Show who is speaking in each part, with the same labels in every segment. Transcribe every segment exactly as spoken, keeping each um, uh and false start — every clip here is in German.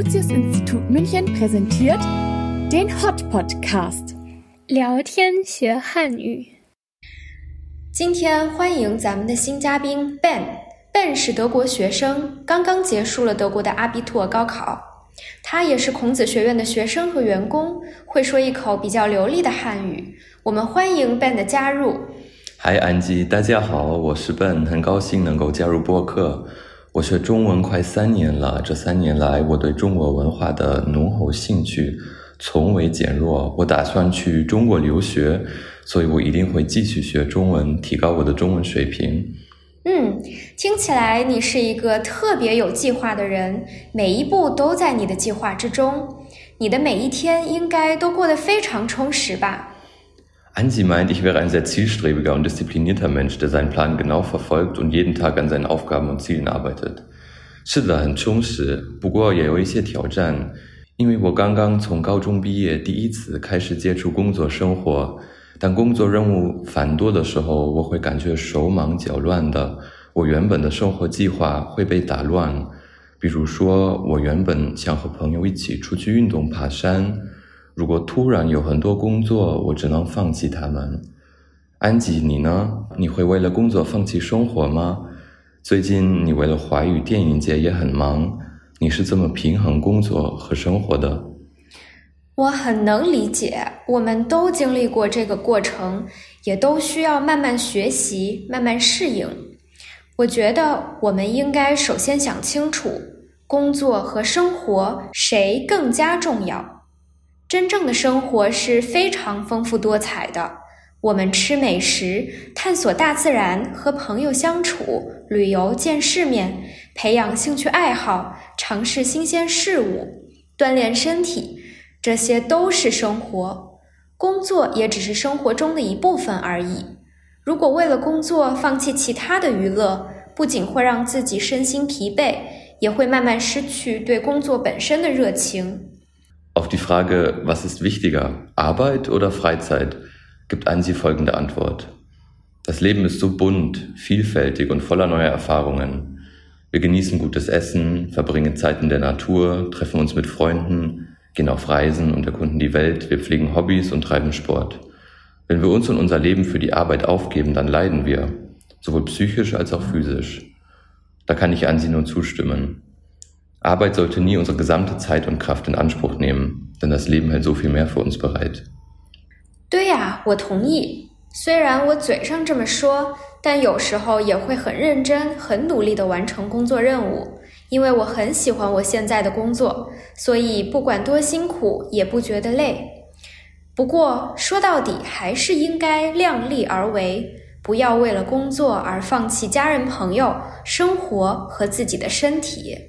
Speaker 1: Confucius-Institut München präsentiert den Hot Podcast
Speaker 2: 聊天学汉语。
Speaker 3: 今天欢迎咱们的新嘉宾 Ben。Ben 是德国学生，刚刚结束了德国的阿比托高考。他也是孔子学院的学生和员工，会说一口比较流利的汉语。我们欢迎 Ben 的加入。
Speaker 4: 嗨，安吉，大家好，我是 Ben， 很高兴能够加入播客。我学中文快三年了，这三年来我对中国文化的浓厚兴趣从未减弱。我打算去中国留学，所以我一定会继续学中文，提高我的中文水平。
Speaker 3: 嗯，听起来你是一个特别有计划的人，每一步都在你的计划之中。你的每一天应该都过得非常充实吧？
Speaker 4: Ansi meint, ich wäre ein sehr zielstrebiger und disziplinierter Mensch, der seinen Plan genau verfolgt und jeden Tag an seinen Aufgaben und Zielen arbeitet. 是的，很充实，不过也有一些挑战，因为我刚刚从高中毕业，第一次开始接触工作生活。当工作任务繁多的时候，我会感觉手忙脚乱的，我原本的生活计划会被打乱。比如说，我原本想和朋友一起出去运动爬山，如果突然有很多工作，我只能放弃他们。安吉，你呢？你会为了工作放弃生活吗？最近你为了华语电影界也很忙，你是怎么平衡工作和生活的？
Speaker 3: 我很能理解，我们都经历过这个过程，也都需要慢慢学习，慢慢适应。我觉得我们应该首先想清楚，工作和生活谁更加重要。真正的生活是非常丰富多彩的，我们吃美食，探索大自然，和朋友相处，旅游见世面，培养兴趣爱好，尝试新鲜事物，锻炼身体，这些都是生活。工作也只是生活中的一部分而已。如果为了工作放弃其他的娱乐，不仅会让自己身心疲惫，也会慢慢失去对工作本身的热情。
Speaker 4: Auf die Frage, was ist wichtiger, Arbeit oder Freizeit, gibt Ansi folgende Antwort. Das Leben ist so bunt, vielfältig und voller neuer Erfahrungen. Wir genießen gutes Essen, verbringen Zeit in der Natur, treffen uns mit Freunden, gehen auf Reisen und erkunden die Welt, wir pflegen Hobbys und treiben Sport. Wenn wir uns und unser Leben für die Arbeit aufgeben, dann leiden wir, sowohl psychisch als auch physisch. Da kann ich Ansi nur zustimmen. Arbeit sollte nie unsere gesamte Zeit und Kraft in Anspruch nehmen, denn das Leben hält so viel mehr für uns bereit.
Speaker 3: 对呀，我同意。虽然我嘴上这么说，但有时候也会很认真、很努力地完成工作任务，因为我很喜欢我现在的工作，所以不管多辛苦也不觉得累。不过说到底还是应该量力而为，不要为了工作而放弃家人朋友、生活和自己的身体。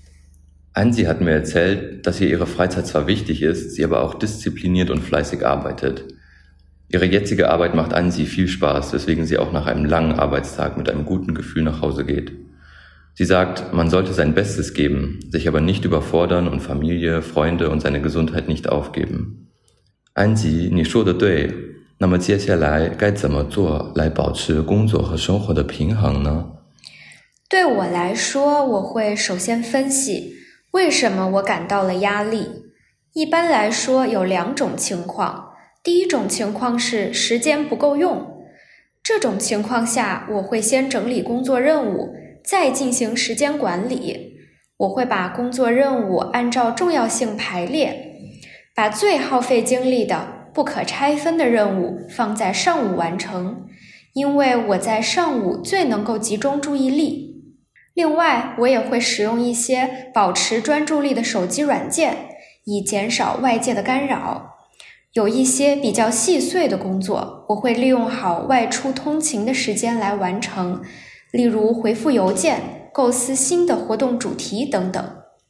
Speaker 4: Ansi hat mir erzählt, dass ihr ihre Freizeit zwar wichtig ist, sie aber auch diszipliniert und fleißig arbeitet. Ihre jetzige Arbeit macht Ansi viel Spaß, weswegen sie auch nach einem langen Arbeitstag mit einem guten Gefühl nach Hause geht. Sie sagt, man sollte sein Bestes geben, sich aber nicht überfordern und Familie, Freunde und seine Gesundheit nicht aufgeben. Ansi, 你说的对，那么接下来该怎么做来保持工作和生活的平衡呢？
Speaker 3: 对我来说，我会首先分析为什么我感到了压力？一般来说有两种情况。第一种情况是时间不够用。这种情况下，我会先整理工作任务，再进行时间管理。我会把工作任务按照重要性排列，把最耗费精力的、不可拆分的任务放在上午完成，因为我在上午最能够集中注意力。另外，我也会使用一些保持专注力的手机软件，以减少外界的干扰。有一些比较细碎的工作，我会利用好外出通勤的时间来完成，例如回复邮件、构思新的活动主题等等。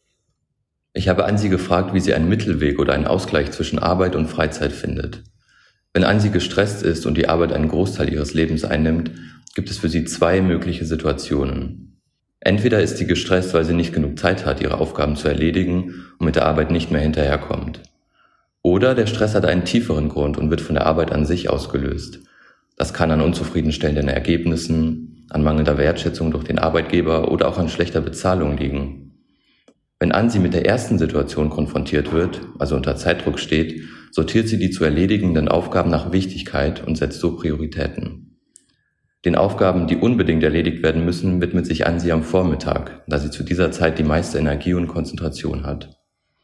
Speaker 4: Ich habe Ansi gefragt, wie sie einen Mittelweg oder einen Ausgleich zwischen Arbeit und Freizeit findet. Wenn Ansi gestresst ist und die Arbeit einen Großteil ihres Lebens einnimmt, gibt es für sie zwei mögliche Situationen. Entweder ist sie gestresst, weil sie nicht genug Zeit hat, ihre Aufgaben zu erledigen und mit der Arbeit nicht mehr hinterherkommt. Oder der Stress hat einen tieferen Grund und wird von der Arbeit an sich ausgelöst. Das kann an unzufriedenstellenden Ergebnissen, an mangelnder Wertschätzung durch den Arbeitgeber oder auch an schlechter Bezahlung liegen. Wenn Ansi mit der ersten Situation konfrontiert wird, also unter Zeitdruck steht, sortiert sie die zu erledigenden Aufgaben nach Wichtigkeit und setzt so Prioritäten. Den Aufgaben, die unbedingt erledigt werden müssen, widmet sich Ansi am Vormittag, da sie zu dieser Zeit die meiste Energie und Konzentration hat.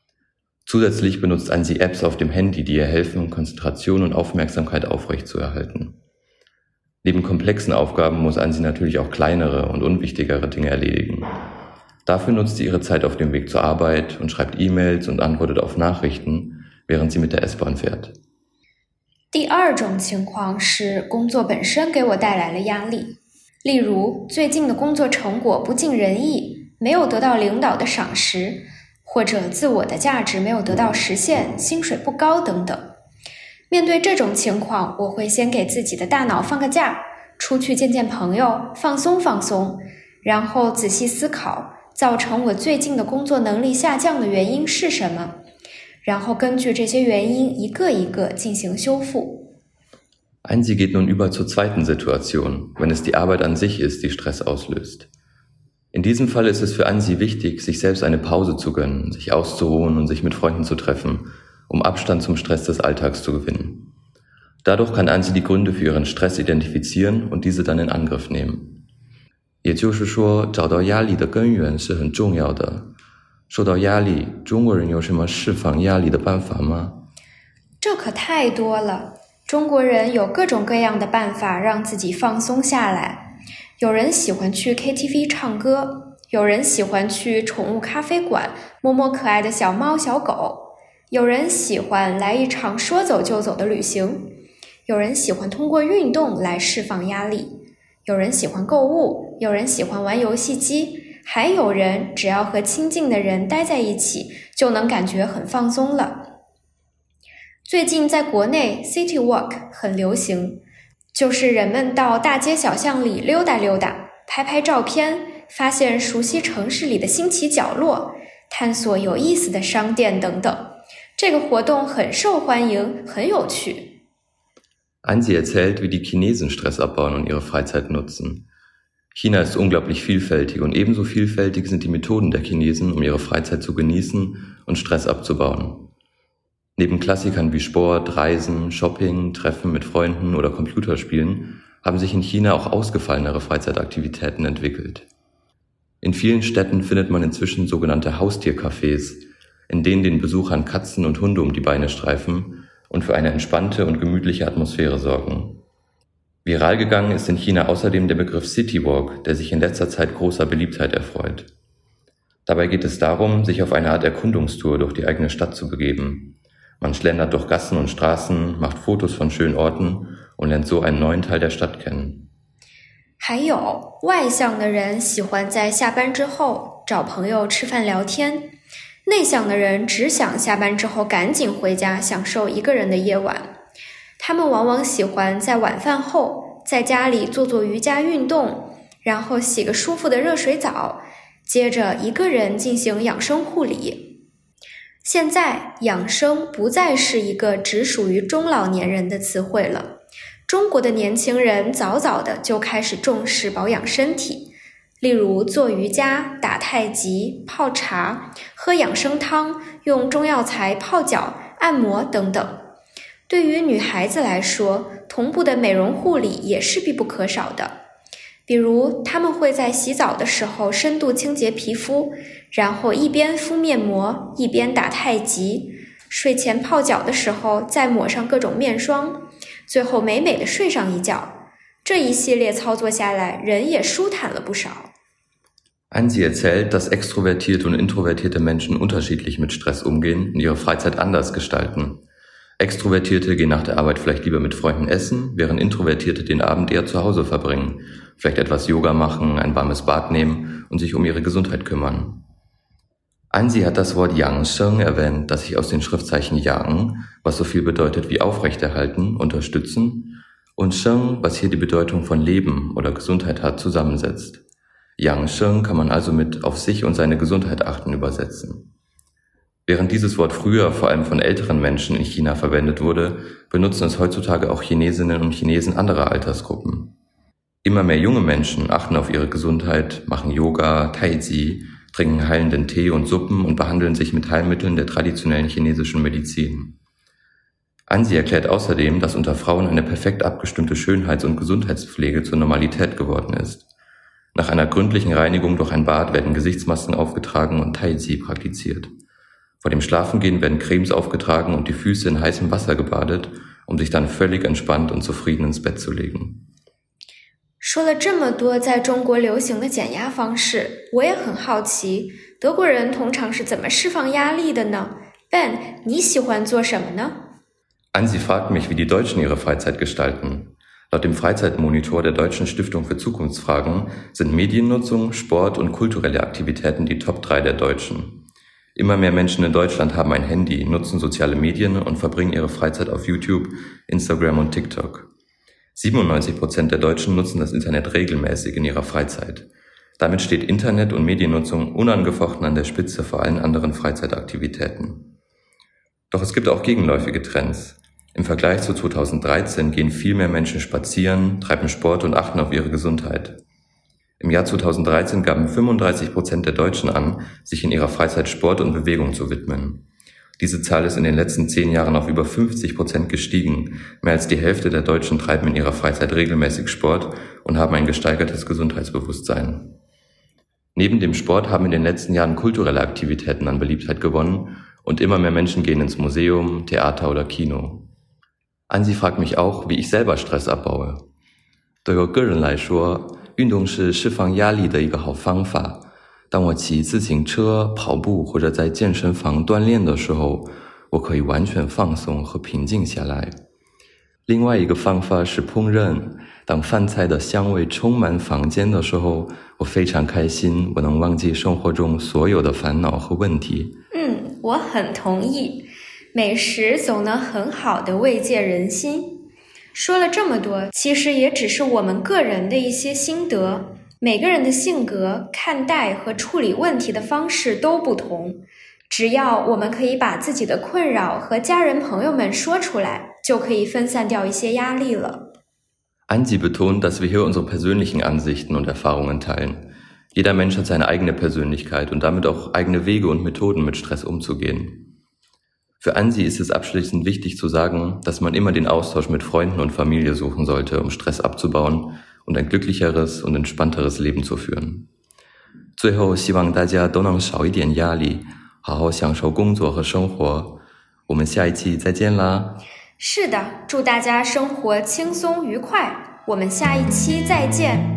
Speaker 4: Zusätzlich benutzt Ansi Apps auf dem Handy, die ihr helfen, Konzentration und Aufmerksamkeit aufrechtzuerhalten. Neben komplexen Aufgaben muss Ansi natürlich auch kleinere und unwichtigere Dinge erledigen. Dafür nutzt sie ihre Zeit auf dem Weg zur Arbeit und schreibt E-Mails und antwortet auf Nachrichten, während sie mit der S-Bahn fährt.
Speaker 3: 第二种情况是工作本身给我带来了压力，例如最近的工作成果不尽人意，没有得到领导的赏识，或者自我的价值没有得到实现，薪水不高等等。面对这种情况，我会先给自己的大脑放个假，出去见见朋友，放松放松，然后仔细思考造成我最近的工作能力下降的原因是什么，然后根据这些原因一个一个进行修复。
Speaker 4: Ansi geht nun über zur zweiten Situation, wenn es die Arbeit an sich ist, die Stress auslöst. In diesem Fall ist es für Ansi wichtig, sich selbst eine Pause zu gönnen, sich auszuruhen und sich mit Freunden zu treffen, um Abstand zum Stress des Alltags zu gewinnen. Dadurch kann Ansi die Gründe für ihren Stress identifizieren und diese dann in Angriff nehmen. 也就是说，找到压力的根源是很重要的。受到压力，中国人有什么释放压力的办法吗？
Speaker 3: 这可太多了。中国人有各种各样的办法让自己放松下来。有人喜欢去 K T V 唱歌，有人喜欢去宠物咖啡馆摸摸可爱的小猫小狗，有人喜欢来一场说走就走的旅行，有人喜欢通过运动来释放压力，有人喜欢购物，有人喜欢玩游戏机，还有人只要和亲近的人待在一起就能感觉很放松了。最近在国内 City Walk 很流行，就是人们到大街小巷里溜达溜达，拍拍照片，发现熟悉城市里的新奇角落，探索有意思的商店等等。这个活动很受欢迎，很有趣。
Speaker 4: Ansi erzählt, wie die Chinesen Stress abbauen und ihre Freizeit nutzen. China ist unglaublich vielfältig und ebenso vielfältig sind die Methoden der Chinesen, um ihre Freizeit zu genießen und Stress abzubauen. Neben Klassikern wie Sport, Reisen, Shopping, Treffen mit Freunden oder Computerspielen haben sich in China auch ausgefallenere Freizeitaktivitäten entwickelt. In vielen Städten findet man inzwischen sogenannte Haustiercafés, in denen den Besuchern Katzen und Hunde um die Beine streifen und für eine entspannte und gemütliche Atmosphäre sorgen. Viral gegangen ist in China außerdem der Begriff City Walk, der sich in letzter Zeit großer Beliebtheit erfreut. Dabei geht es darum, sich auf eine Art Erkundungstour durch die eigene Stadt zu begeben. Man schlendert durch Gassen und Straßen, macht Fotos von schönen Orten und lernt so einen neuen Teil der Stadt kennen.
Speaker 3: 还有，外向的人喜欢在下班之后找朋友吃饭聊天，内向的人只想下班之后赶紧回家享受一个人的夜晚。他们往往喜欢在晚饭后在家里做做瑜伽运动，然后洗个舒服的热水澡，接着一个人进行养生护理。现在养生不再是一个只属于中老年人的词汇了，中国的年轻人早早的就开始重视保养身体，例如做瑜伽、打太极、泡茶、喝养生汤、用中药材泡脚、按摩等等。对于女孩子来说，同步的美容护理也是必不可少的。比如她们会在洗澡的时候深度清洁皮肤，然后一边敷面膜一边打太极，睡前泡脚的时候再抹上各种面霜，最后美美的睡上一觉。这一系列操作下来，人也舒坦了不少。
Speaker 4: Ansi erzählt, dass extrovertierte und introvertierte Menschen unterschiedlich mit Stress umgehen und ihre Freizeit anders gestalten. Extrovertierte gehen nach der Arbeit vielleicht lieber mit Freunden essen, während Introvertierte den Abend eher zu Hause verbringen, vielleicht etwas Yoga machen, ein warmes Bad nehmen und sich um ihre Gesundheit kümmern. Ansi hat das Wort Yang Sheng erwähnt, das sich aus den Schriftzeichen Yang, was so viel bedeutet wie aufrechterhalten, unterstützen, und Sheng, was hier die Bedeutung von Leben oder Gesundheit hat, zusammensetzt. Yang Sheng kann man also mit auf sich und seine Gesundheit achten übersetzen. Während dieses Wort früher vor allem von älteren Menschen in China verwendet wurde, benutzen es heutzutage auch Chinesinnen und Chinesen anderer Altersgruppen. Immer mehr junge Menschen achten auf ihre Gesundheit, machen Yoga, Tai Chi, trinken heilenden Tee und Suppen und behandeln sich mit Heilmitteln der traditionellen chinesischen Medizin. Ansi erklärt außerdem, dass unter Frauen eine perfekt abgestimmte Schönheits- und Gesundheitspflege zur Normalität geworden ist. Nach einer gründlichen Reinigung durch ein Bad werden Gesichtsmasken aufgetragen und Tai Chi praktiziert. Vor dem Schlafengehen werden Cremes aufgetragen und die Füße in heißem Wasser gebadet, um sich dann völlig entspannt und zufrieden ins Bett zu legen.
Speaker 3: 说了这么多在中国流行的减压方式，我也很好奇，德国人通常是怎么释放压力的呢？ Ben， 你喜欢做什么呢？
Speaker 4: Ansi fragt mich, wie die Deutschen ihre Freizeit gestalten. Laut dem Freizeitmonitor der Deutschen Stiftung für Zukunftsfragen sind Mediennutzung, Sport und kulturelle Aktivitäten die Top drei der Deutschen. Immer mehr Menschen in Deutschland haben ein Handy, nutzen soziale Medien und verbringen ihre Freizeit auf YouTube, Instagram und TikTok. siebenundneunzig Prozent der Deutschen nutzen das Internet regelmäßig in ihrer Freizeit. Damit steht Internet- und Mediennutzung unangefochten an der Spitze vor allen anderen Freizeitaktivitäten. Doch es gibt auch gegenläufige Trends. Im Vergleich zu zweitausenddreizehn gehen viel mehr Menschen spazieren, treiben Sport und achten auf ihre Gesundheit. Im Jahr zweitausenddreizehn gaben fünfunddreißig Prozent der Deutschen an, sich in ihrer Freizeit Sport und Bewegung zu widmen. Diese Zahl ist in den letzten zehn Jahren auf über fünfzig Prozent gestiegen. Mehr als die Hälfte der Deutschen treiben in ihrer Freizeit regelmäßig Sport und haben ein gesteigertes Gesundheitsbewusstsein. Neben dem Sport haben in den letzten Jahren kulturelle Aktivitäten an Beliebtheit gewonnen und immer mehr Menschen gehen ins Museum, Theater oder Kino. Ansi fragt mich auch, wie ich selber Stress abbaue. 对我个人来说，运动是释放压力的一个好方法。当我骑自行车、跑步或者在健身房锻炼的时候，我可以完全放松和平静下来。另外一个方法是烹饪，当饭菜的香味充满房间的时候，我非常开心，我能忘记生活中所有的烦恼和问题。
Speaker 3: 嗯，我很同意，美食总能很好的慰藉人心。说了这么多，其实也只是我们个人的一些心得。每个人的性格、看待和处理问题的方式都不同，只要我们可以把自己的困扰和家人朋友们说出来，就可以分散掉一些压力了。
Speaker 4: Ansi betont, dass wir hier unsere persönlichen Ansichten und Erfahrungen teilen. Jeder Mensch hat seine eigene Persönlichkeit und damit auch eigene Wege und Methoden, mit Stress umzugehen. Für Ansi ist es abschließend wichtig zu sagen, dass man immer den Austausch mit Freunden und Familie suchen sollte, um Stress abzubauen und ein glücklicheres und entspannteres Leben zu führen. 最后，希望大家都能少一点压力，好好享受工作和生活。我们下一期再见啦！
Speaker 3: 是的，祝大家生活轻松愉快，我们下一期再见。